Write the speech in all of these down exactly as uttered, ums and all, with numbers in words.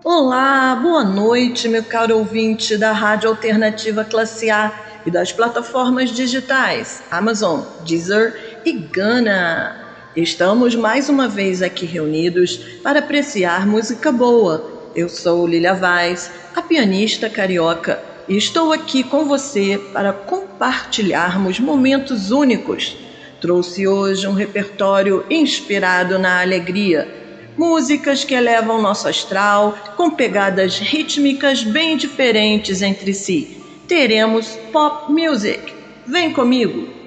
Olá, boa noite, meu caro ouvinte da Rádio Alternativa Classe A e das plataformas digitais Amazon, Deezer e Gaana. Estamos mais uma vez aqui reunidos para apreciar música boa. Eu sou Lilia Vaz, a pianista carioca, e estou aqui com você para compartilharmos momentos únicos. Trouxe hoje um repertório inspirado na alegria. Músicas que elevam nosso astral, com pegadas rítmicas bem diferentes entre si. Teremos pop music. Vem comigo!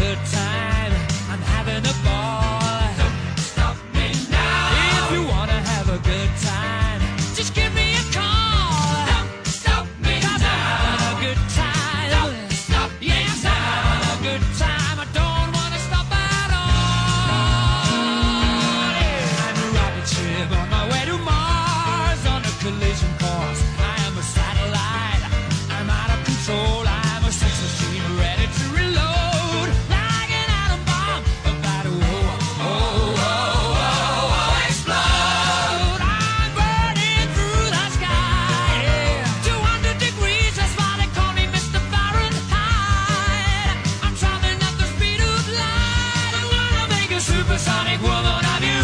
good time. I'm having a ball. Don't stop me now. If you wanna have a good time, just give me a call. Don't stop me now. 'Cause I'm having a good time. Don't stop me now. Yes, I'm having a good time. I don't wanna stop at all. Yeah. I'm a rocket ship on my way to Mars on a collision course. I am a satellite. I'm out of control. I'm a sex machine ready to reload. Like an atom bomb about to oh, oh, oh, oh, oh, explode. I'm burning through the sky. Yeah. two hundred degrees, that's why they call me Mister Fahrenheit. I'm traveling at the speed of light. I'm gonna make a supersonic woman of you.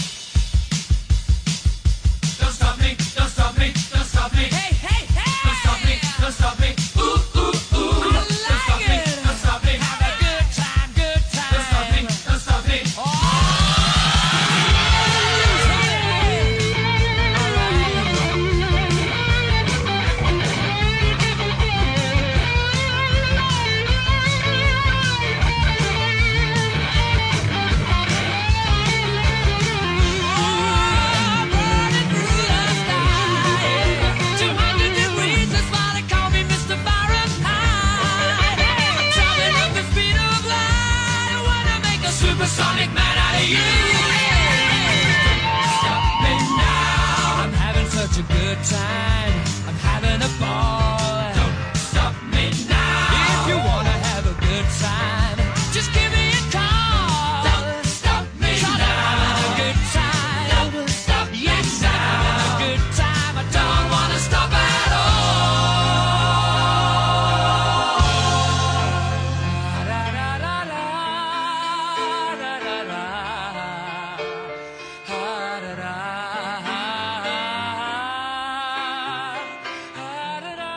Don't stop me, don't stop me, don't stop me. Hey, hey, hey! Don't stop me, don't stop me. Ooh, ooh, ooh. I don't stop me, don't stop me. Have a good time, good time. Don't stop me, don't stop me. Oh! Burning through the sky. two hundred degrees, that's why they call me Mister Fahrenheit. I'm traveling at the speed of light. I wanna make a supersonic man out of you. Stop me now. I'm having such a good time. I'm having a ball. Don't stop me now. If you wanna have a good time, just give me a call. Don't stop me now. I'm having a good time. Don't stop me yes, now. I'm having a good time. I don't wanna stop at all. Da, da, da, da, da, da, da, da. Ha, da, da. Ha, da, da.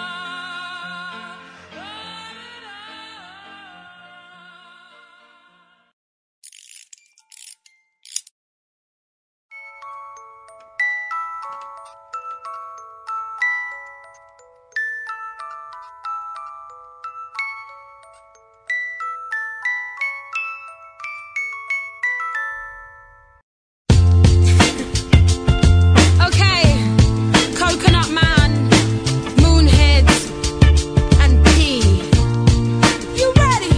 Okay, Coconut Man, Moonheads, and P. You ready?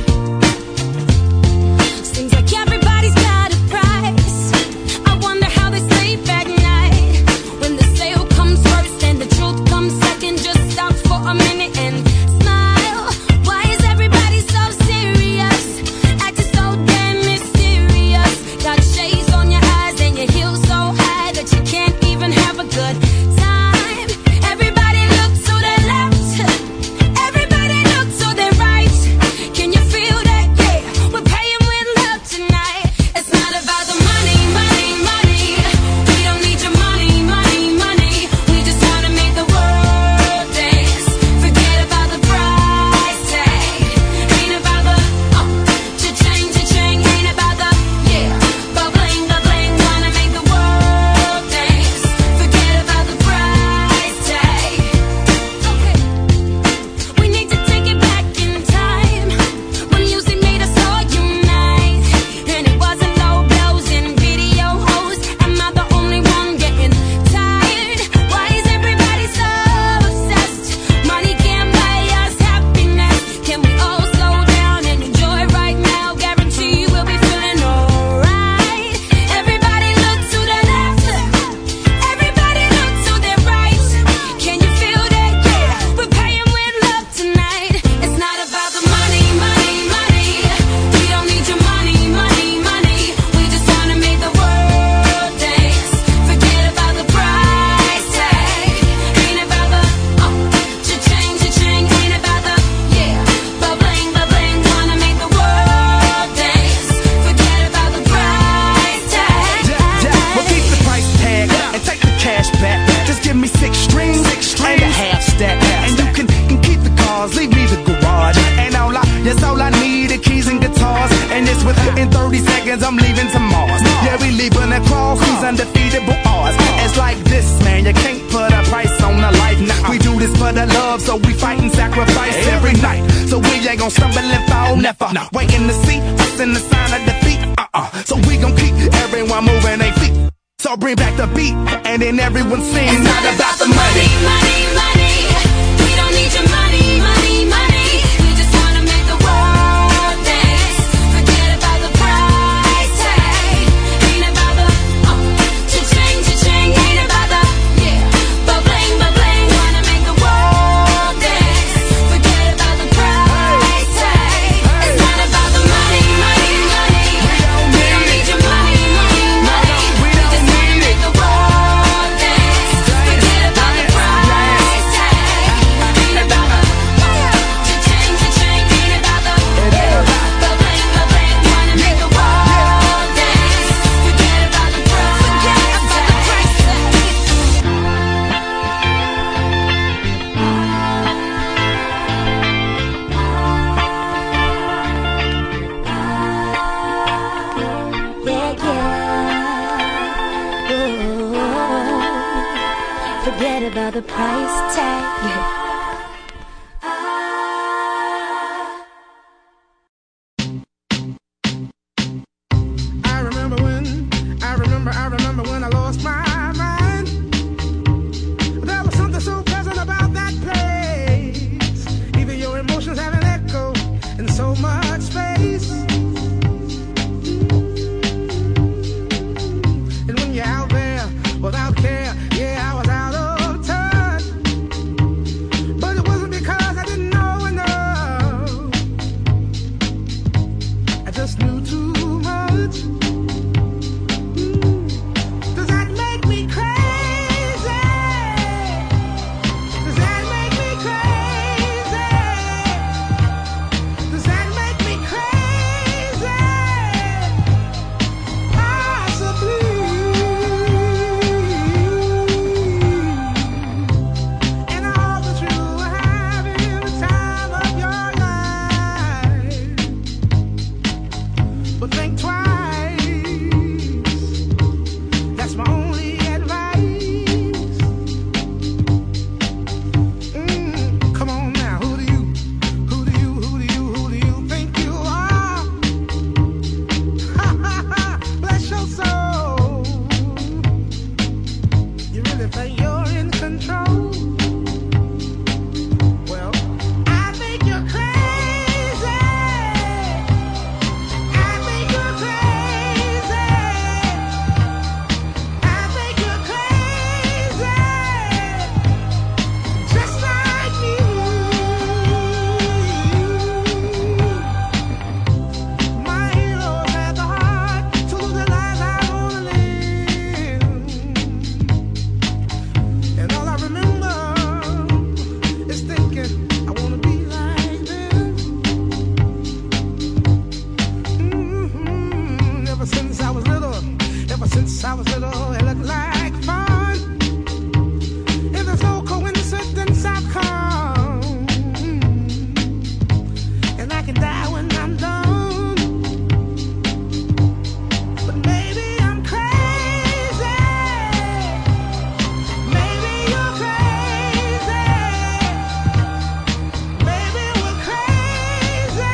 Seems like everybody's got a price. I wonder how they sleep at night. When the sale comes first and the truth comes second, just stop for a minute and smile. Why is everybody so serious? Acting so damn mysterious. Got shades on your eyes and your heels so high that you can't even have a good time. Everybody look to their left. Everybody look to their right. Can you feel that? Yeah, we're paying with love tonight. It's not about the money, money, money. We don't need your money, money, money. We just wanna make the world dance. Forget about the price tag. Ain't about the oh, cha-ching, cha-ching. Ain't about the yeah, bubbling, bubbling. Wanna make the world dance. Forget about the price tag. Okay, we need to take it back in time when music made us all unite, and it wasn't low blows and video hoes. Am I the only one getting tired? Why is everybody so obsessed? Money can't buy us happiness. Can we all slow down and enjoy right now? Guarantee we'll be feeling alright. Everybody look to the left. Everybody look to their right. Can you feel that? Yeah, we're paying with love tonight. It's not about the money, money, money. We don't need your money, money, money. We just wanna make the world dance. Forget about the price tag. Ain't about the oh, cha-ching, cha-ching. Ain't about the yeah, bubbling, bubbling. Wanna make the world dance. Forget about the price tag. Well, keep the price tag and take the cash back. Just give me six strings, six strings and a half stack. And you can, can keep the cars, leave me the garage. And all I, yes, all I need are keys and guitars. And it's within thirty seconds, I'm leaving to Mars. Yeah, we leaving across these undefeatable odds. It's like this, man, you can't put a price on a life. Nah, we do this for the love, so we fight and sacrifice every night. So so we ain't gon' stumble and fall, never. No. Waiting to see us in the sign of defeat, uh-uh. So we gon' keep everyone moving their feet. So bring back the beat, and then everyone sings. It's not about the money, money, money. We don't need your money, money, money. We just wanna make the world dance. Forget about the price tag. Ain't about the uh, cha-ching, cha-ching. Ain't about the yeah, but bling, but bling. Wanna make the world dance. Forget about the price tag. It's not about the money, money, money. We don't need your money, money, money. We just wanna make the world dance. Forget about the price tag. Ain't about the cha-ching, cha-ching. Ain't about the but bling, but bling. Wanna make the world dance. Forget about the price Yeah, yeah. Ooh, forget about the price tag. I remember when, I remember, I remember when I lost my mind. There was something so pleasant about that place. Even your emotions have an echo in so much space. And when you're out there without care, yeah, I was out of touch. But it wasn't because I didn't know enough. I just knew too much. Does that make me crazy? Does that make me crazy? Does that make me crazy? Possibly. And I hope that you are having the time of your life. But think twice. That's my only advice. Mm, come on now, who do you, who do you, who do you, who do you think you are? Ha ha ha! Bless your soul. You really think you're in control? Well, I think you're crazy. I think you're crazy. I think you're crazy. Just like me. My heroes had the heart to lose their lives out on a limb. And all I remember is thinking, I wanna be like them. Mhm. Ever since I was little, ever since I was little, it looked like fun. If there's no coincidence, I've come. And I can die when I'm done. But maybe I'm crazy. Maybe you're crazy. Maybe we're crazy.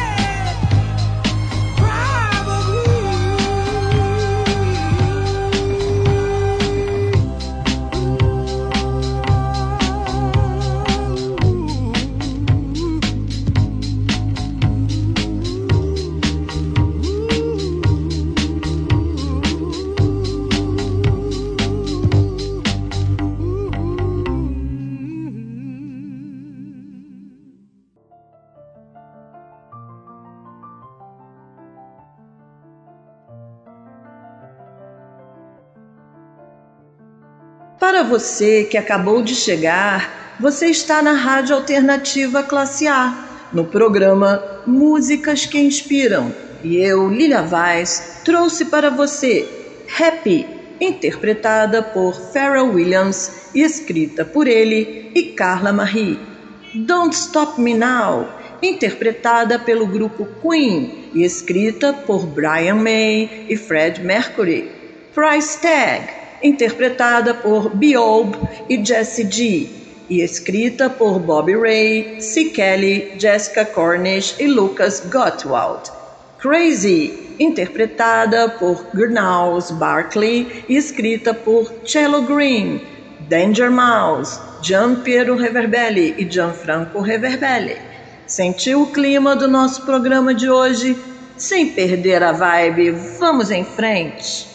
Para você que acabou de chegar, você está na Rádio Alternativa Classe A, no programa Músicas que Inspiram. E eu, Lilia Vaz, trouxe para você Happy, interpretada por Pharrell Williams e escrita por ele e Carla Marie. Don't Stop Me Now, interpretada pelo grupo Queen e escrita por Brian May e Fred Mercury. Price Tag, interpretada por B O B e Jessie G. e escrita por Bobby Ray, C. Kelly, Jessica Cornish e Lucas Gottwald. Crazy, interpretada por Gnarls Barkley e escrita por Cello Green. Danger Mouse, Gian Piero Reverbelli e Gianfranco Reverbelli. Sentiu o clima do nosso programa de hoje? Sem perder a vibe, vamos em frente!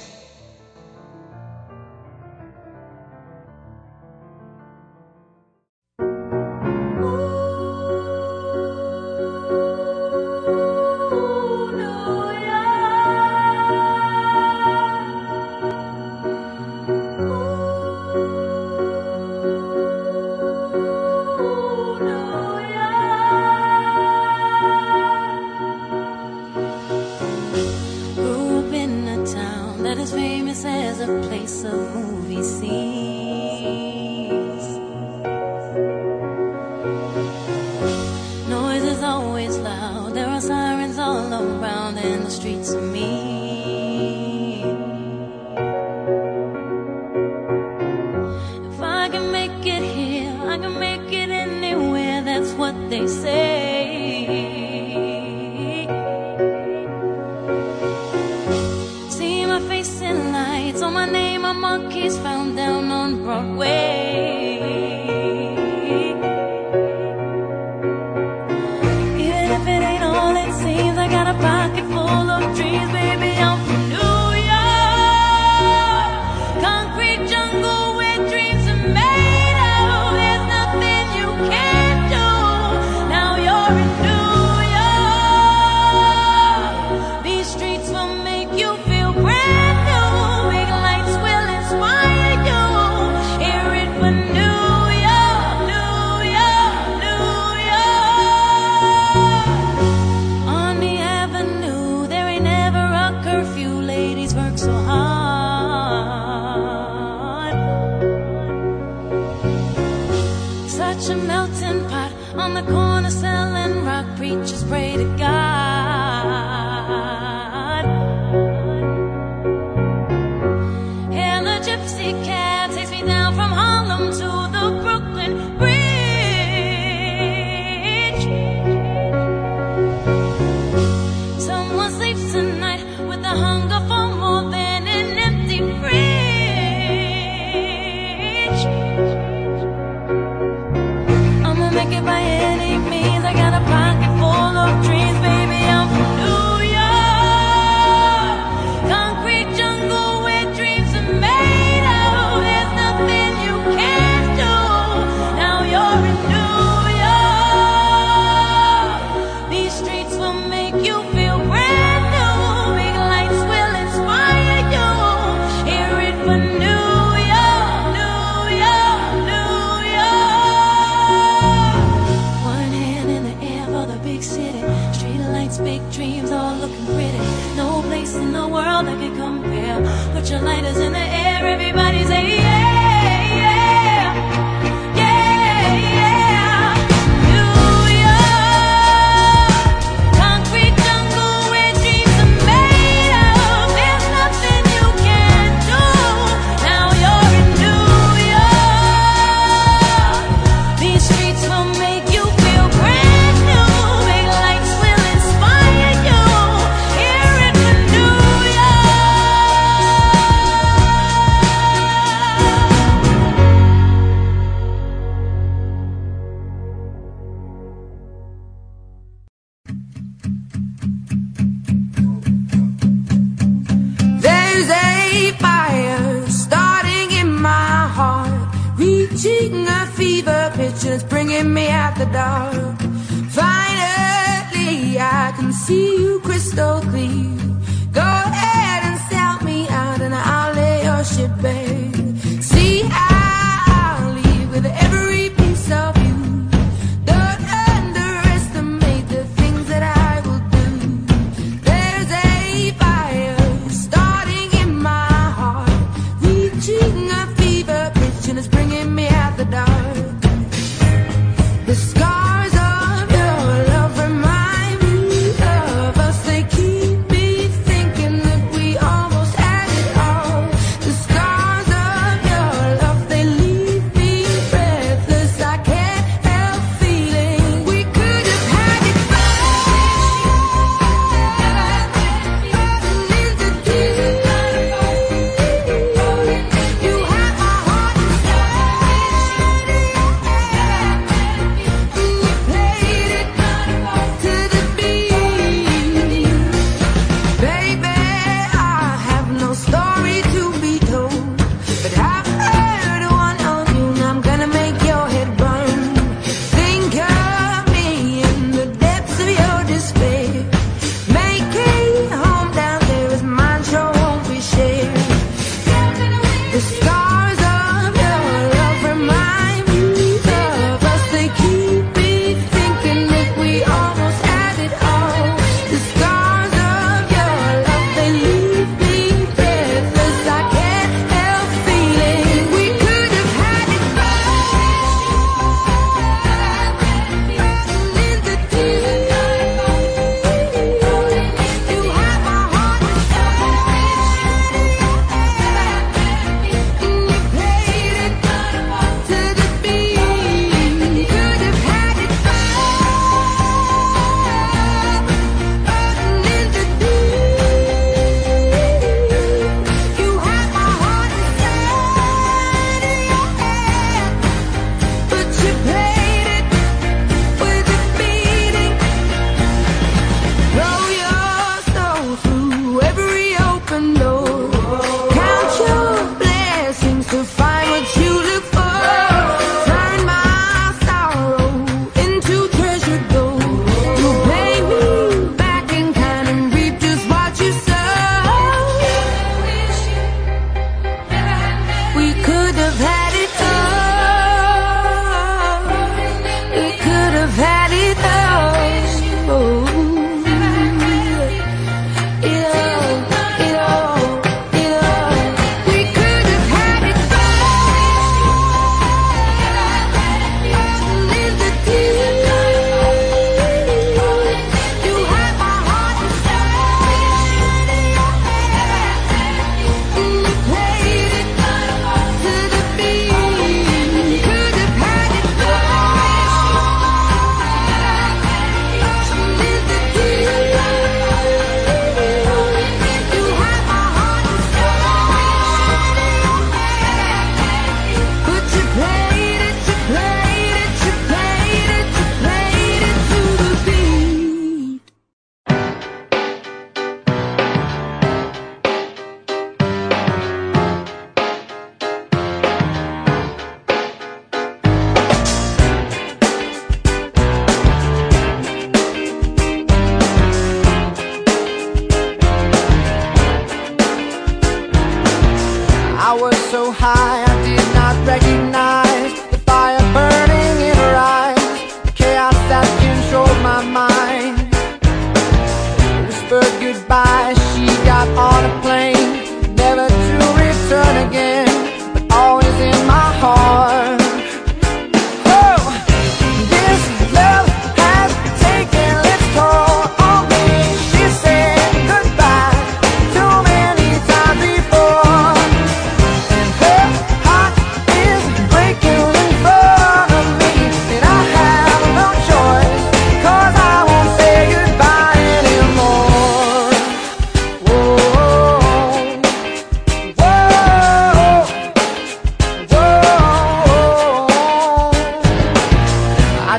The scars of your love remind me of us. They keep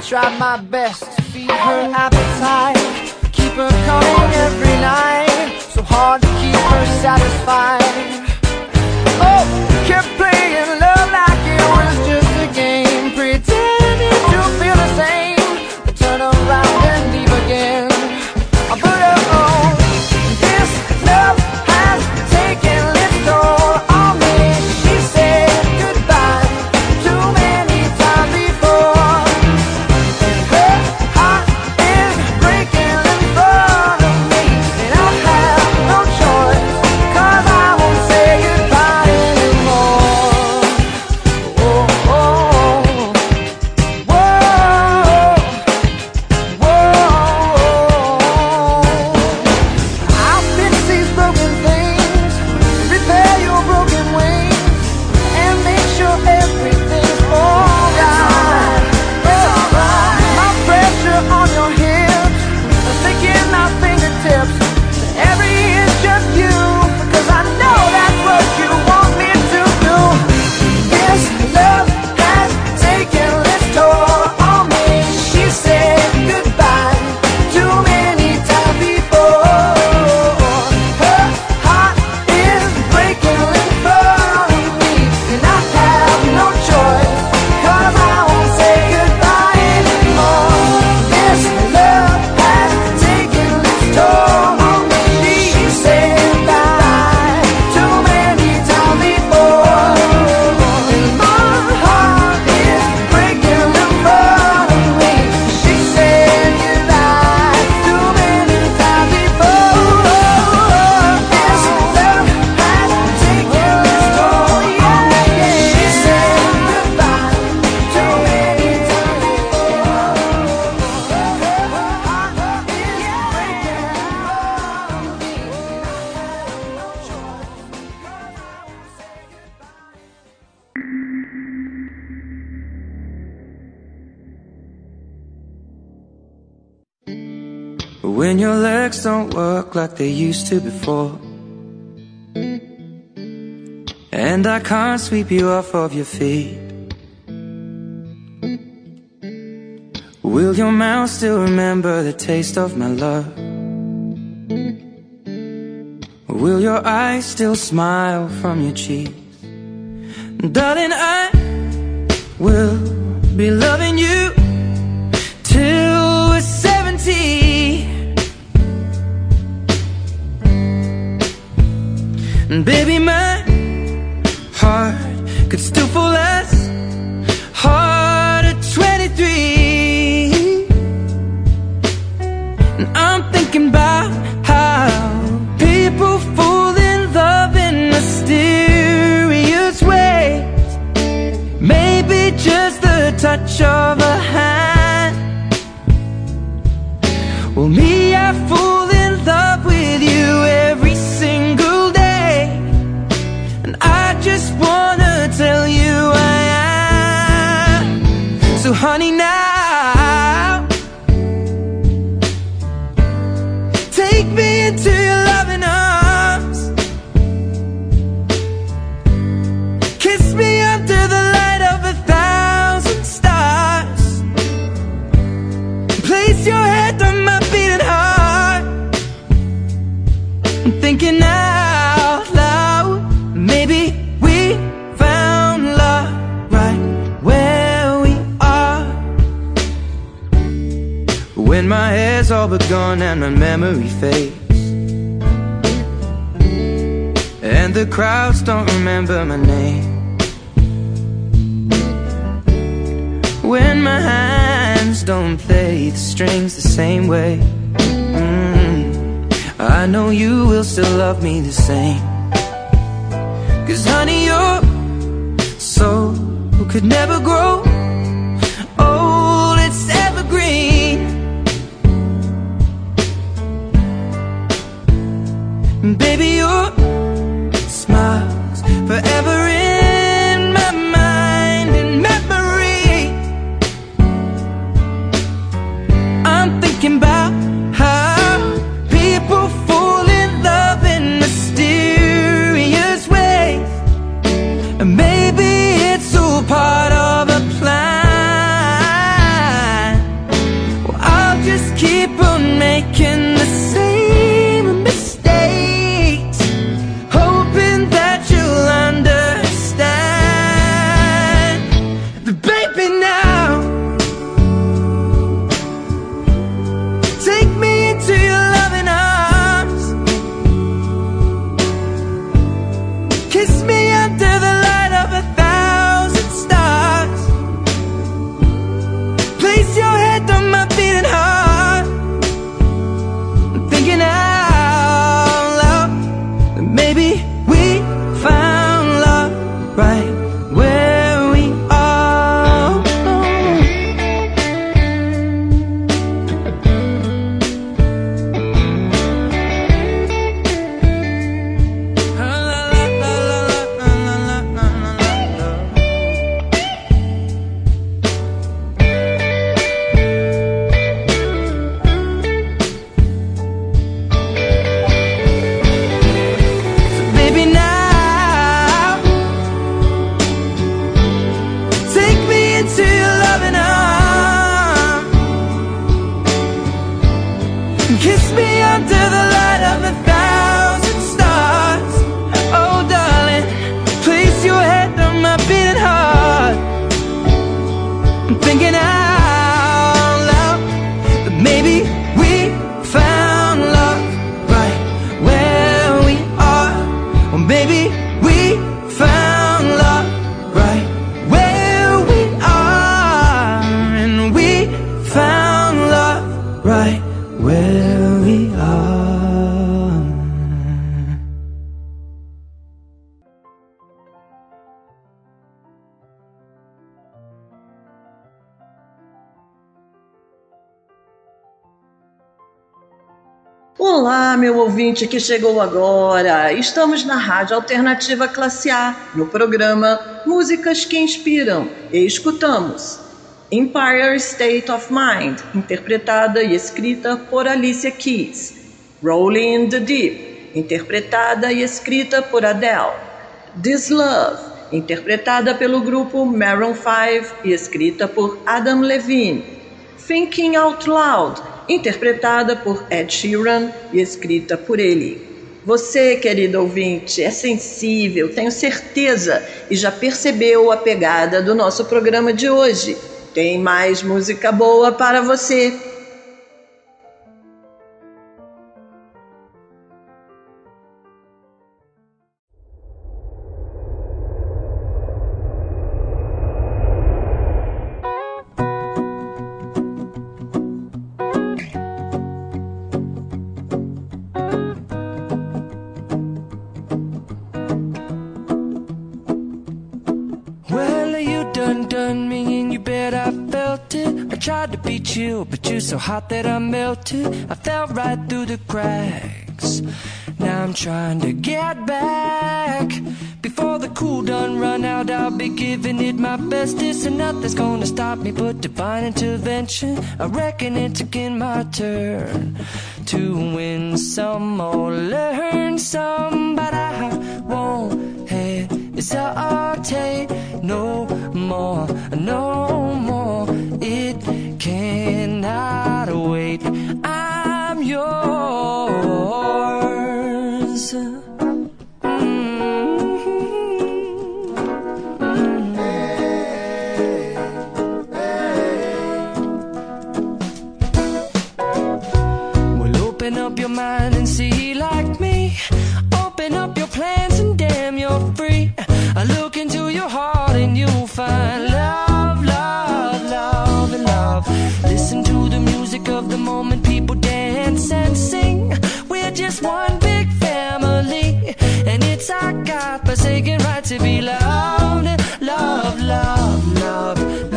tried my best to feed her appetite, keep her coming every night, so hard to keep her satisfied. Oh, kept playing love like it was just a game, pretending to feel the same, but turn around and leave again. But oh, this love has taken its toll on me. She said goodbye too many times before, and her heart is breaking in front of me, and I have no choice, 'cause I won't say goodbye anymore. Oh, oh, whoa, whoa. I'll fix these broken things, repair your broken wings, and make sure everything's alright. My pressure on your hips, sticking my fingertips, every is just you, because I know that's what you want me to do. This love has taken its toll on me. She said goodbye too many times before. Her heart is breaking in front of me, and I have no choice, 'cause I won't say goodbye anymore. This love has taken its toll on me. She said goodbye too many times before, and my heart is breaking in front of me. She said goodbye too many times before. This love has taken its toll on me. She said goodbye too many times before. Her heart is breaking in front of me. When your legs don't work like they used to before, and I can't sweep you off of your feet, will your mouth still remember the taste of my love? Will your eyes still smile from your cheeks? Darling, I will be loving you till we're seventy. And baby, my heart could still fall as hard at twenty-three. And I'm thinking about how people fall in love in mysterious ways. Maybe just the touch of a hand. Well, me, I fall in love with you every single day, and I just wanna tell you I am. So honey, now take me into your loving arms, kiss me under the light of a thousand stars, place your head on my beating heart. I'm thinking out loud, maybe we found love right where we are. When my hair's all but gone and my memory fades, and the crowds don't remember my name, when my hands don't play the strings the same way, mm, I know you will still love me the same. 'Cause honey, your soul could never grow old, it's evergreen. And baby, your smile's forever in my mind and memory. I'm thinking about how people fall in love in mysterious ways, and maybe it's all part of a plan. Maybe we found love right where we are, and we found love right where we are. Olá, meu ouvinte que chegou agora. Estamos na Rádio Alternativa Classe A, no programa Músicas que Inspiram, e escutamos Empire State of Mind, interpretada e escrita por Alicia Keys, Rolling in the Deep, interpretada e escrita por Adele, This Love, interpretada pelo grupo Maroon five e escrita por Adam Levine, Thinking Out Loud, interpretada por Ed Sheeran e escrita por ele. Você, querido ouvinte, é sensível, tenho certeza, e já percebeu a pegada do nosso programa de hoje. Tem mais música boa para você. Tried to be chill, but you're so hot that I melted. I fell right through the cracks. Now I'm trying to get back. Before the cool done run out, I'll be giving it my bestest, and nothing's gonna stop me but divine intervention. I reckon it's again my turn to win some or learn some, but I won't hesitate no more, no more. It cannot wait. I'm yours. Open up your mind and see like me. Open up your plans and damn, you're free. I look into your heart and you'll find love, love, love, and love. Listen to the music of the moment, people dance and sing. We're just one big family, and it's our God-forsaken right to be loved. Love, love, love,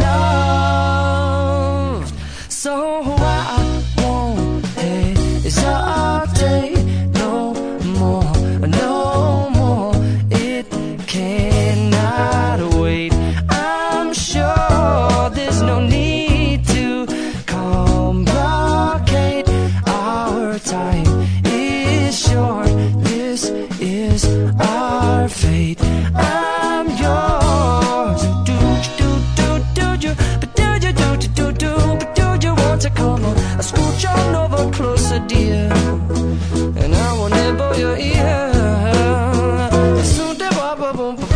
love. So I won't hesitate no more, no more. It cannot wait. I'm sure there's no need to complicate. Our time is short. This is our fate. I'm yours. Do do do do do, but do you do do do do, but do you want to come on? I scooch on over closer, dear, and I will nibble your ear. Soon the boom boom boom boom.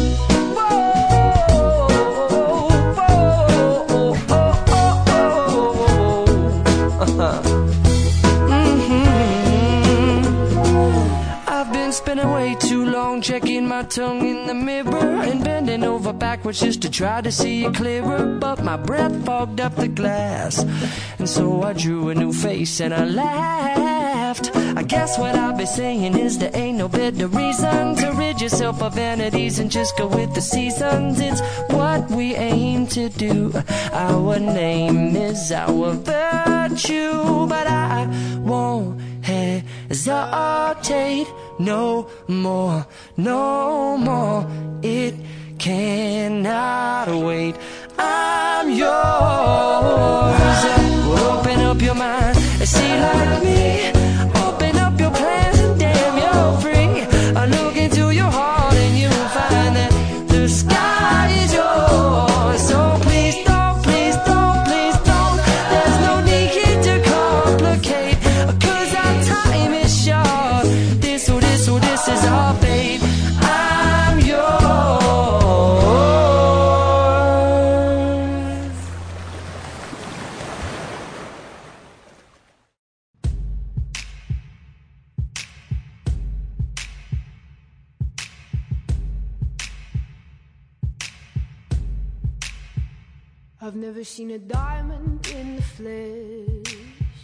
Spending way too long checking my tongue in the mirror and bending over backwards just to try to see it clearer, but my breath fogged up the glass, and so I drew a new face and I laughed. I guess what I'll be saying is there ain't no better reason to rid yourself of vanities and just go with the seasons. It's what we aim to do. Our name is our virtue, but I won't hesitate no more, no more. It cannot wait. I'm yours. Open up your mind and see like me. Open up your plans and damn, you're free. I look into your heart and you'll find that the sky is yours. So please don't, please don't, please don't. There's no need here to complicate, 'cause our time is short. This or this or this is our fate. I'm yours. I've never seen a diamond in the flesh.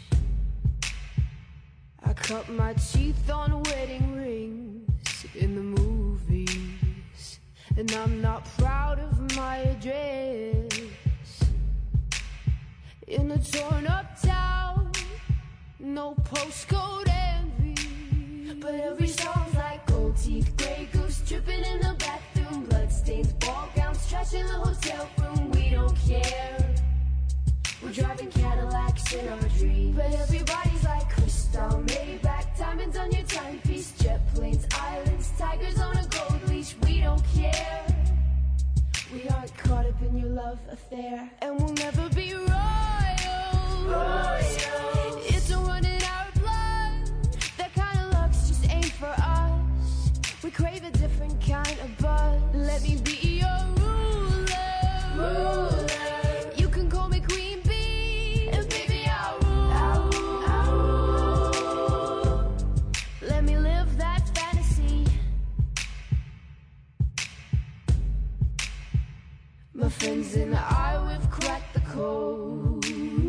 I cut my teeth on wedding rings in the movies, and I'm not proud of my address. In a torn up town, no postcode envy, but every song's like gold teeth, grey goose dripping in the bathroom, bloodstains, ball gowns, trash in the hotel room. We don't care. We're driving Cadillacs in our dreams, but everybody's like crystal, Maybach, diamonds on your timepiece, jet planes, islands, tigers on a gold leash. We don't care. We aren't caught up in your love affair, and we'll never be royal. Royal. It's a run in our blood. That kind of luck's just ain't for us. We crave a different kind of buzz. Let me be your ruler. Ruler. You can call me Queen Bee, and baby I'll rule. I'll rule. I'll rule. Let me live that fantasy. My friends and I, we've cracked the code.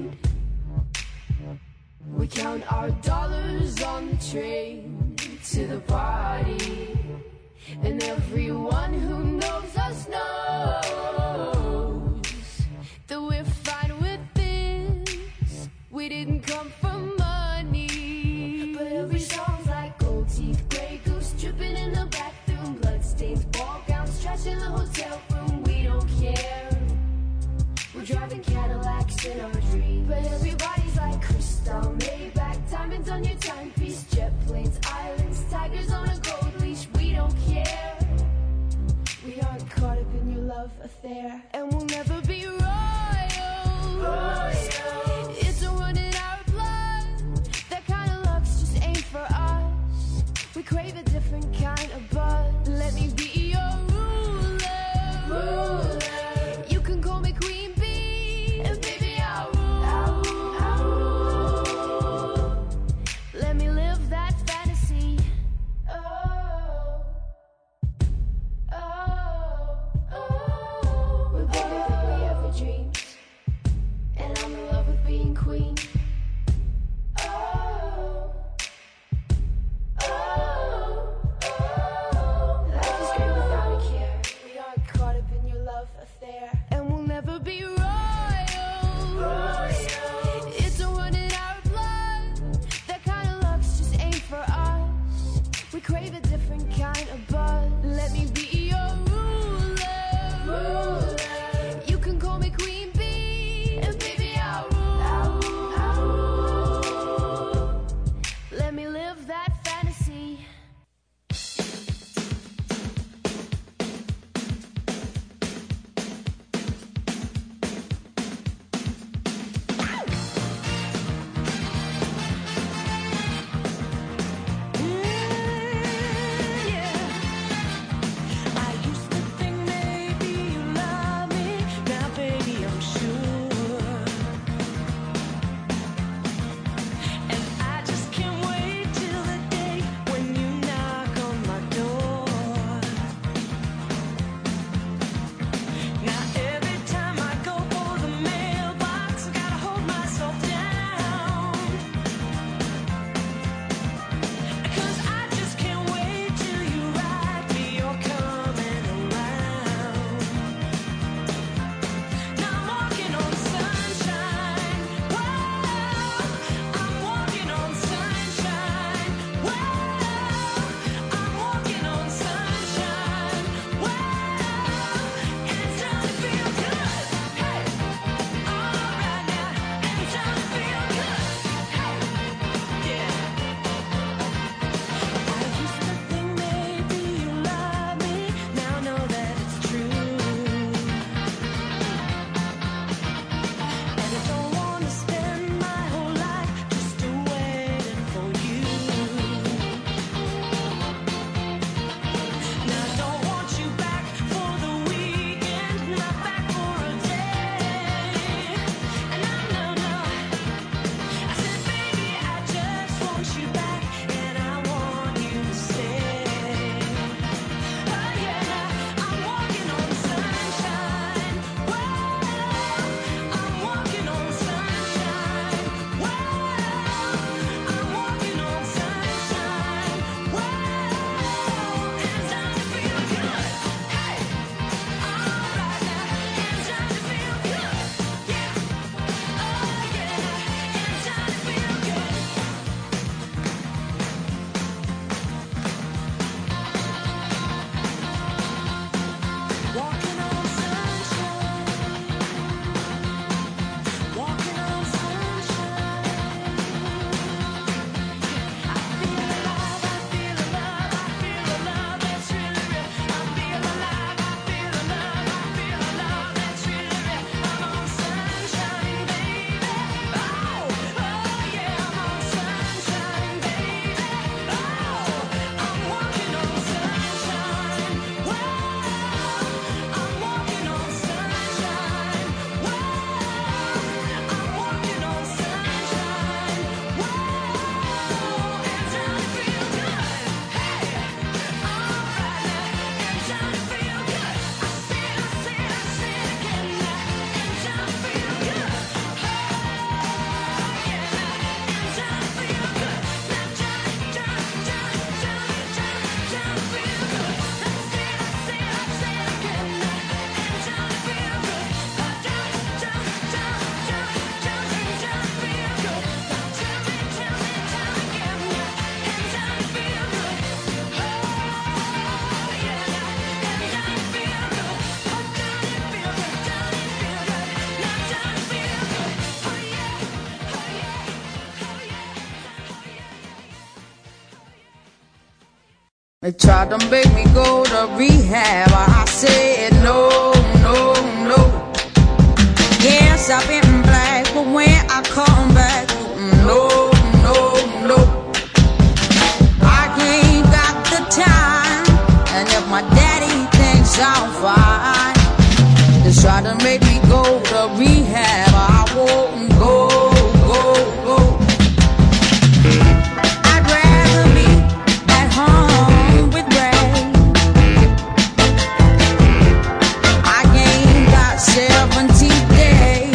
We count our dollars on the train to the party, and everyone who knows us knows that we're fine with this. We didn't come for money, but every song's like gold teeth, grey goose dripping in the bathroom, bloodstains, ball gowns, trash in the hotel room. We don't care. We're driving Cadillacs in our dreams, but everybody's like crystal, Maybach, diamonds on your timepiece, jet planes, islands, tigers on a gold leash. We don't care. We aren't caught up in your love affair, and we'll never be royal. Royal. It's a run in our blood. That kind of luck's just ain't for us. We crave a different kind of buzz. Let me be your ruler. Ruler. You can call me Queen Bee, and baby I'll rule. I'll rule. I'll rule. Let me live that fantasy. Oh, oh, oh. We're bigger than we ever dreamed, and I'm in love with being queen. Oh, oh, oh. Life is great without a care. We aren't caught up in your love affair, and we'll never be royal. Royal. It's a run in our blood. That kind of luck's just ain't for us. We crave a different kind of buzz. Let me be your ruler. Ruler. You can call me Queen Bee, and baby I'll rule. I'll rule. I'll rule. Let me live that fantasy. They tried to make me go to rehab. I said no, no, no. Yes, I've been black, but when I come back, no, no, no. I ain't got the time, and if my daddy thinks I'm fine, they try to make me go to rehab. I won't go, go, go. I'd rather be at home with Ray. I ain't got seventy days.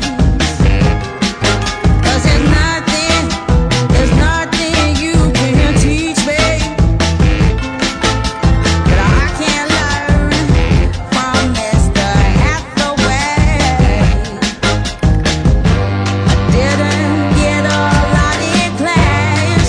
Cause there's nothing, there's nothing you can teach me that I can't learn from Mister Hathaway. I didn't get a lot in class,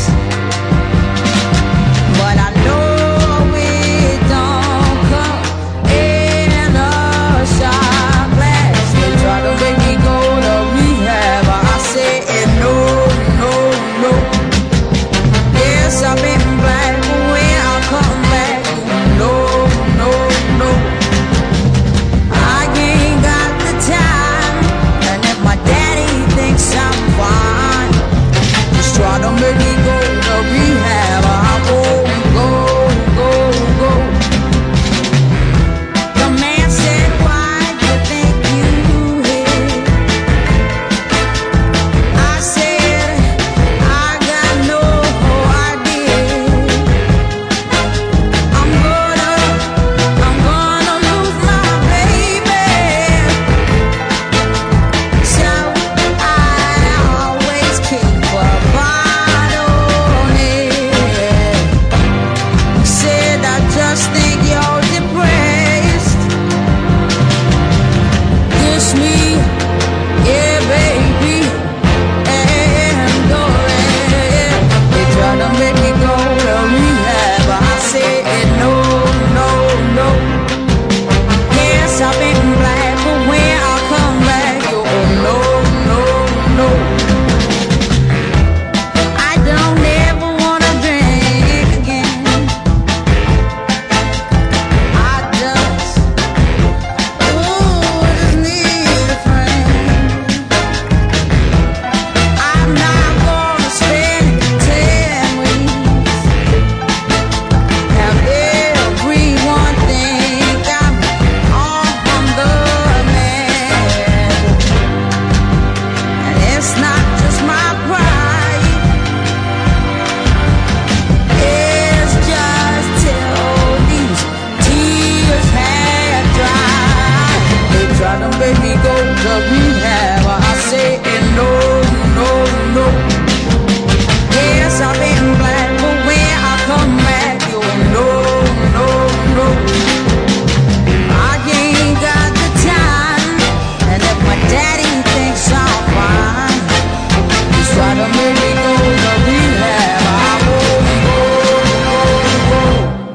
but I know it don't come in a shot glass. They try to make me go to rehab. I said no, no, no. Yes, I've been black, but when I come back, no, no, no. I ain't got the time, and if my daddy thinks I'm fine, just try to make me go to rehab. I won't go, go, go. The man said, why do you think you hit? I said, I got no idea. I'm gonna, I'm gonna lose my baby. So I always keep a bottle near. Said I just think you're depressed. Kiss me, yeah, baby, and go ahead. They try to make me go to rehab. I said no, no, no. Yes, I've been black, but when I come back, you no, no, no. I don't ever wanna drink again. I just, ooh, just need a friend. I'm not gonna spend ten weeks. Have everyone think I'm on the man. And it's not just my pride. It's just till these tears have dried. They try to make me go to rehab. I say no, no, no. Yes, I've been black, but when I come back, you no, no, no. I ain't got the time, and if my daddy thinks I'm fine, he's trying to make me go to rehab. I won't go, go, go.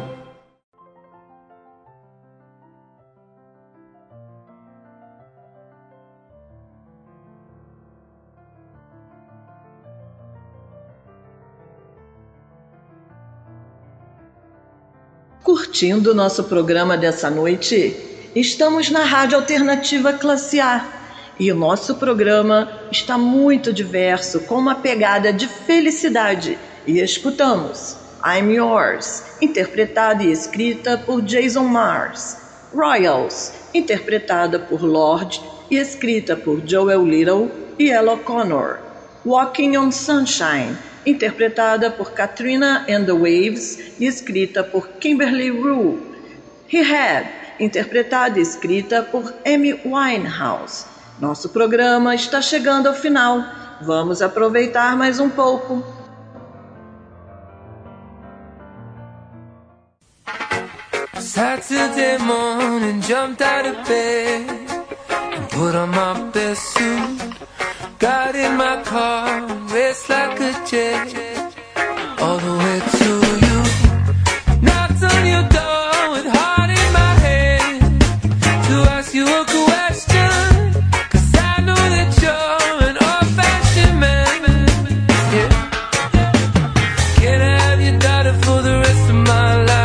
Curtindo o nosso programa dessa noite? Estamos na Rádio Alternativa Classe A e o nosso programa está muito diverso, com uma pegada de felicidade. E escutamos I'm Yours, interpretada e escrita por Jason Mars, Royals, interpretada por Lorde e escrita por Joel Little e Ella Connor, Walking on Sunshine, interpretada por Katrina and the Waves e escrita por Kimberly Rue, Rehab, interpretada e escrita por Amy Winehouse. Nosso programa está chegando ao final. Vamos aproveitar mais um pouco. Saturday morning, jumped out of bed and put on my best suit. Got in my car, raced like a jet all the way to you. Knocked on your door with heart in my head to ask you a question, 'cause I know that you're an old-fashioned man. Yeah. Can I have your daughter for the rest of my life?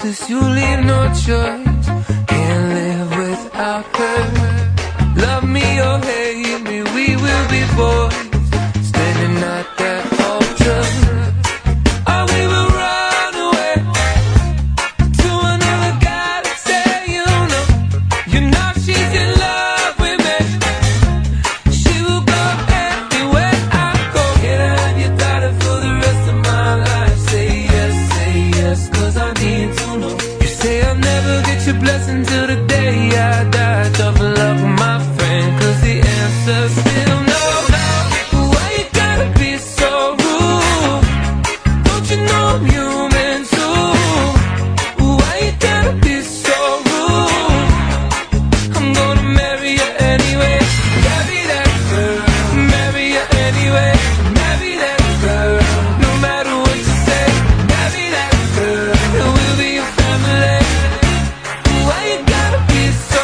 'cause you leave no choice. Can't live without her. Love me or hate me, we will be boys, standing at that altar. Or we will run away to another guy to say, you know, you know she's in love with me. She will go anywhere I go. Can I have your daughter for the rest of my life? Say yes, say yes, 'cause I need to know. You say I'll never get your blessing till the day I die. Tough love with my friend, 'cause the answer's still no. Why you gotta be so rude? Don't you know I'm human too? Why you gotta be so rude? I'm gonna marry you anyway. Marry that girl. Marry you anyway. Marry that girl. No matter what you say. Marry that girl. And we'll be a family. Why you gotta be so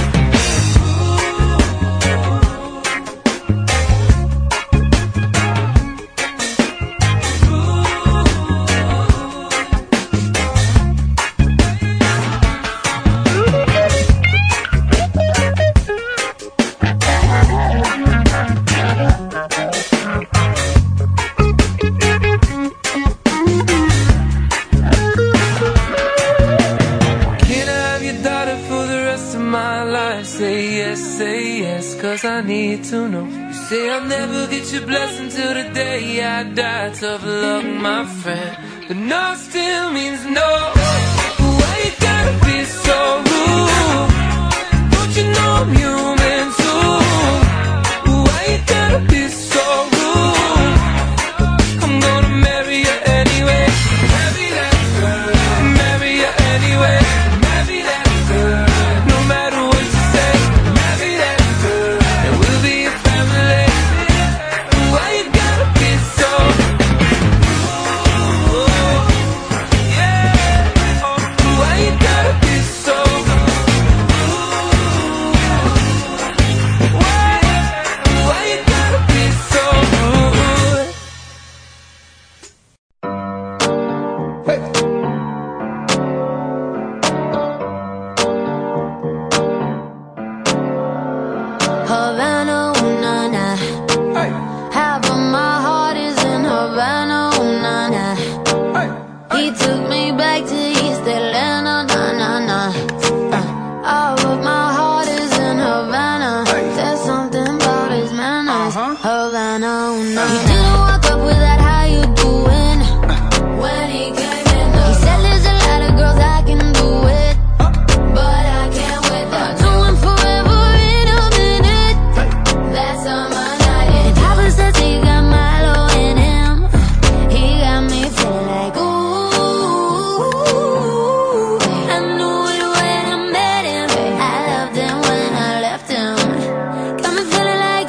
Can I have your daughter for the rest of my life? Say yes, say yes, 'cause I need to know. You say I'll never get your blessing till the day I die. Tough luck, my friend, but no still means no. Why you gotta be so rude? Don't you know I'm human too? Why you gotta be so rude? I'm gonna marry you anyway. Marry that girl. Marry you anyway. Marry that girl. No matter what you say. Marry that girl. And we'll be a family. Why you gotta be so rude? Yeah. Why you gotta be so rude? Why? Why you gotta be so rude? Havana, ooh, na, na. Half of my heart is in Havana, ooh, na, na. He took me back to East Atlanta, na, na, na. Uh, all of my heart is in Havana. There's something about his manners. Havana, ooh, na, na. He didn't walk up with that, how you doing? When he came in, he said there's a lot of girls I can do it, but I can't wait. I'll do him forever in a minute. That's on my night. And Papa says he got Milo in him. He got me feeling like ooh. I knew it when I met him. I loved him when I left him. Got me feeling like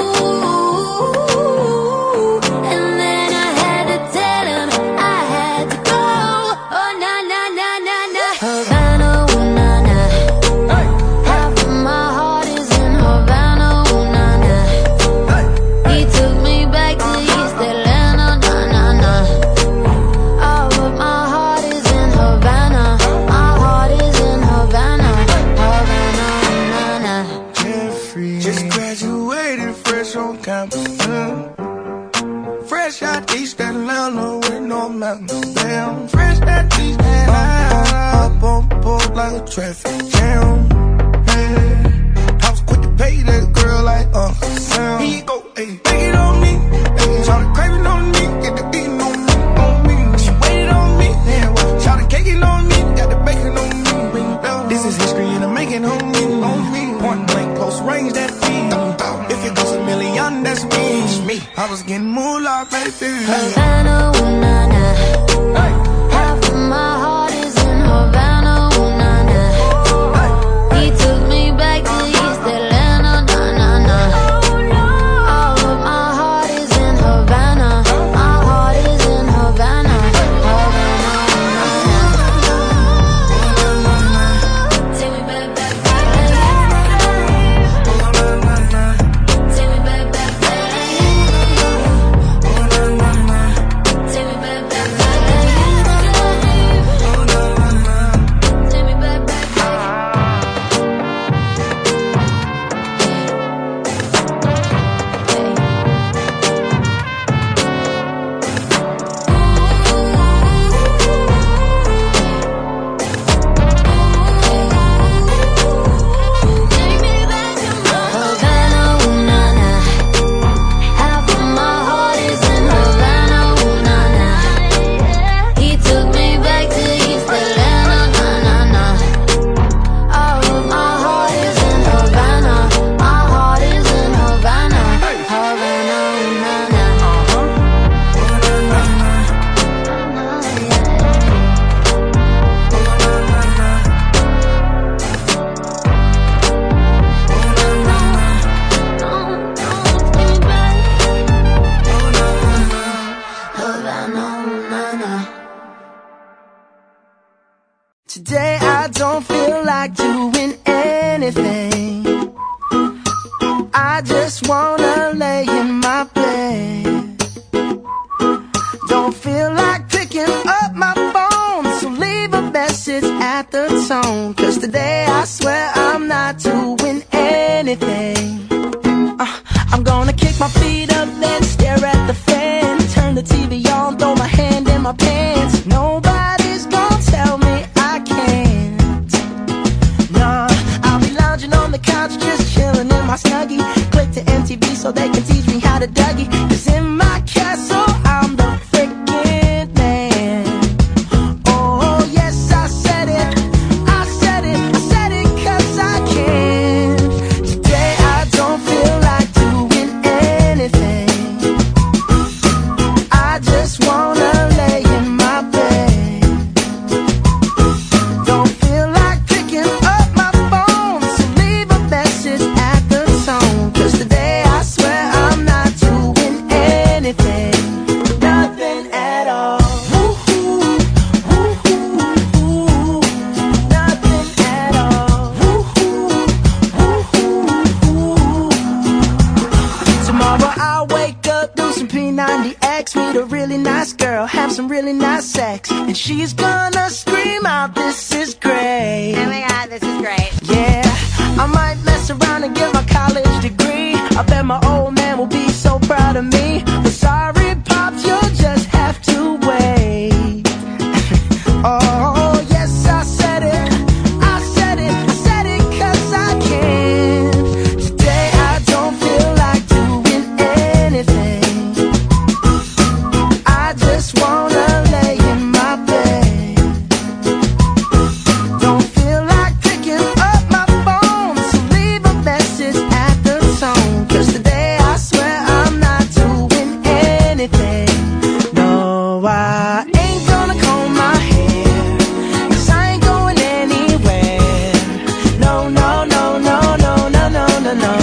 ooh. And then I had to tell him I had to go. Oh na na na na na. Havana, ooh, na, na. Half of my heart is in Havana, ooh, na, na. He took me back to East Atlanta, na, na, na. All of my heart is in Havana. My heart is in Havana. Havana, ooh, na, na. Jeffrey. Just graduated fresh on campus. mm. Fresh out East Atlanta with no mountains down. Fresh out East Atlanta. Up on board like a traffic jam. Yeah. I was quick to pay that girl like Uncle Sam. He go, hey, take it on me. Hey, shout craving on me. Get the beating on me, on me. She waited on me. Yeah, shout caking on me. Got the bacon on me. This is history and I'm making on me, on me. Point blank, close range, that feed. If it goes a million, that's me. me. I was getting moolah, baby. Havana, ooh, na, na. Half of my heart is in Havana, ooh, na, na. He took me back to East Atlanta, na, na, na. All of my heart is in Havana. My heart is in Havana. Havana, ooh, na, na. Take me back, back, back. Take me back, back, back. Take me back, back. Today I don't feel like doing anything. I just wanna lay in my bed. Don't feel like picking up my phone, so leave a message at the tone. Cause today I swear I'm not doing anything. uh, I'm gonna kick my feet up, then stare at the fan. Turn the T V on, throw my hand in my pants. Nobody's gonna tell me I can't. Nah, I'll be lounging on the couch, just chilling in my Snuggie. Click to M T V so they can teach me how to Dougie. Cause in my castle I'm the freaking man. Oh yes, I said it, I said it, I said it cause I can. Today I don't feel like doing anything. I just wanna lay in my bed. Don't feel like picking up my phone, so leave a message at the tone. Cause today I swear I'm not doing anything. Nothing at all. Woo-hoo, woo-hoo, nothing at all. Woo-hoo, woo-hoo. Tomorrow I'll wake up, do some P ninety X, meet a really nice girl, have some really nice sex, and she's gonna scream out, this is great. Oh my god, this is great. Yeah, I might mess around and get my college degree. I bet my old man will be so proud of me. But sorry, Pops, you'll just have to wait. Oh, yes, I said it, I said it, I said it cause I can. Today I don't feel like doing anything. I just wanna lay in my bed. Don't feel like picking up my phone, so leave a message at the tone. Cause today I swear I'm not doing anything. No, I ain't gonna comb my hair, cause I ain't going anywhere. No, no, no, no, no, no, no, no, no.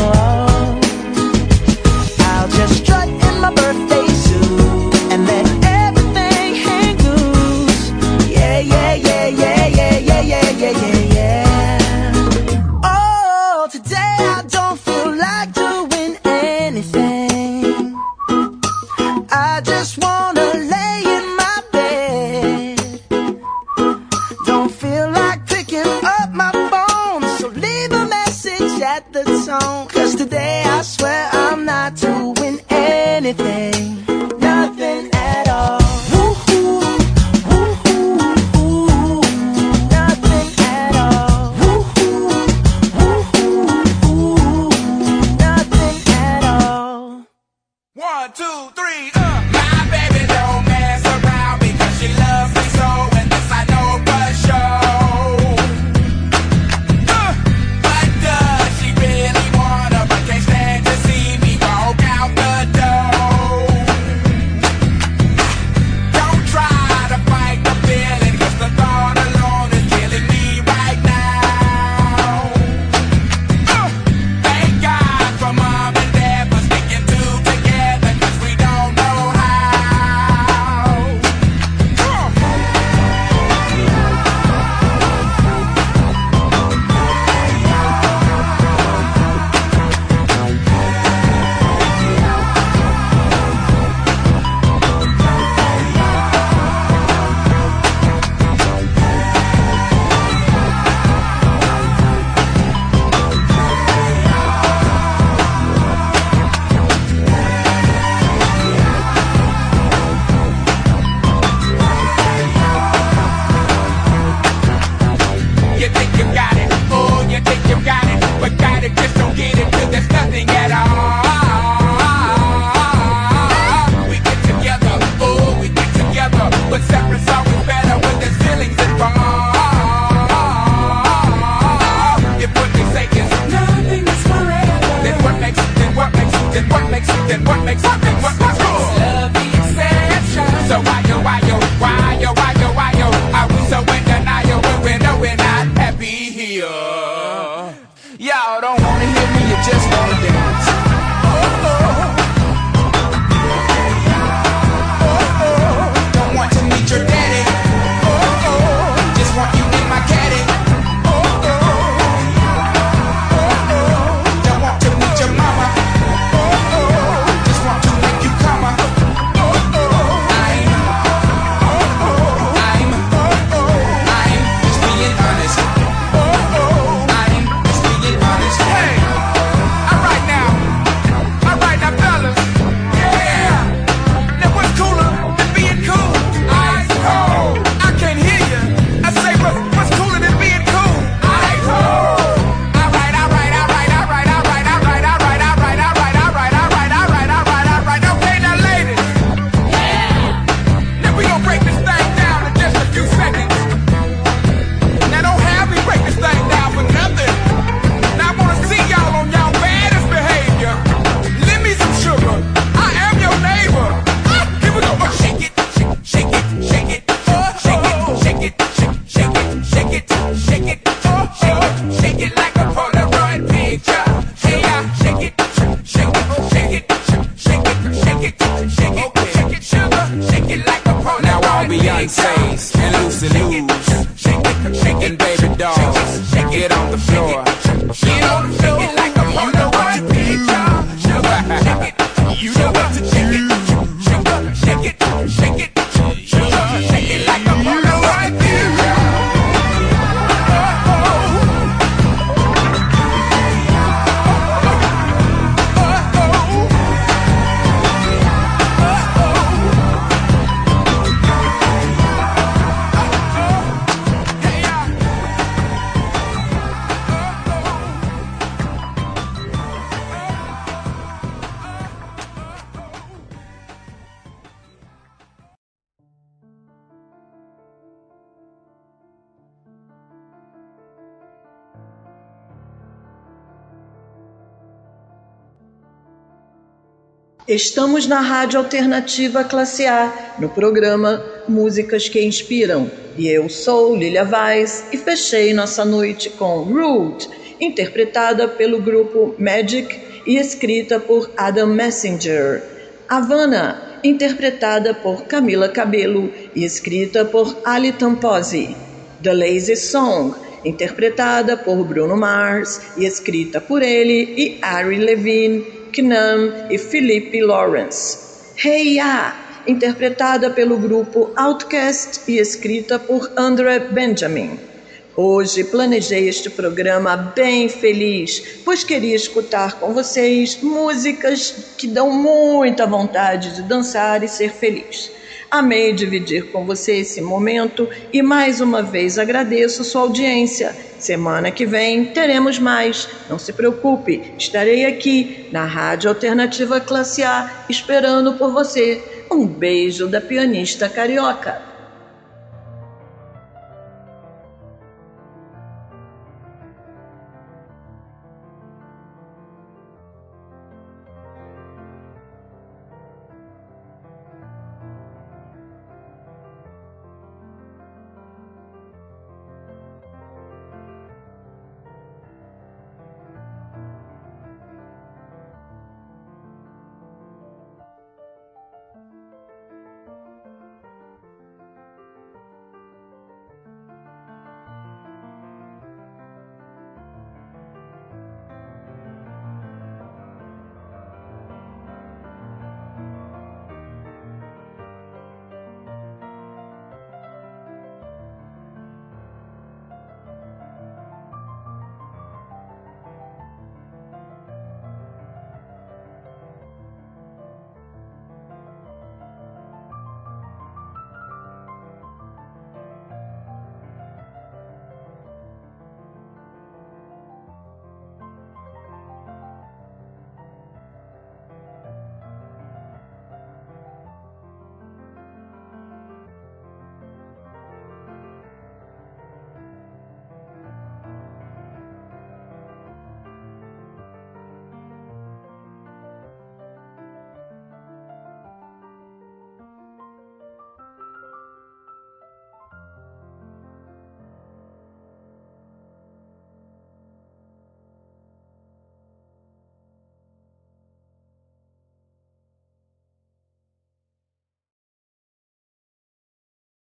I'll just strut in my birthday suit and let everything hang loose. Yeah, yeah, yeah, yeah, yeah, yeah, yeah, yeah, yeah, yeah. Oh, today I don't feel like doing anything. I just wanna lay in my bed. Don't feel like picking up my phone, so leave a message at the tone. Cause today I swear I'm not doing anything. Nothing at all. Woo-hoo, woo-hoo, nothing at all. Woo-hoo, woo-hoo, nothing at all. One, two, three, uh. My baby don't mess around because she loves me so, and this I know for sure. Uh, but does she really wanna big face and loosey loose. Shaking, shaking, baby dolls. Get on the floor. Get on the floor like I'm on the white picture. Shake it, you know what to shake it. Shake it, shake it, shake it. Shake it like I'm on the white picture. Estamos na Rádio Alternativa Classe A, no programa Músicas que Inspiram. E eu sou Lilia Vaz e fechei nossa noite com Rude, interpretada pelo grupo Magic e escrita por Adam Messenger. Havana, interpretada por Camila Cabello e escrita por Ali Tamposi. The Lazy Song, interpretada por Bruno Mars e escrita por ele e Ari Levine, Knam e Philippe Lawrence. Hey Ya, interpretada pelo grupo Outkast e escrita por Andre Benjamin. Hoje planejei este programa bem feliz, pois queria escutar com vocês músicas que dão muita vontade de dançar e ser feliz. Amei dividir com você esse momento e mais uma vez agradeço sua audiência. Semana que vem teremos mais. Não se preocupe, estarei aqui na Rádio Alternativa Classe A esperando por você. Um beijo da pianista carioca.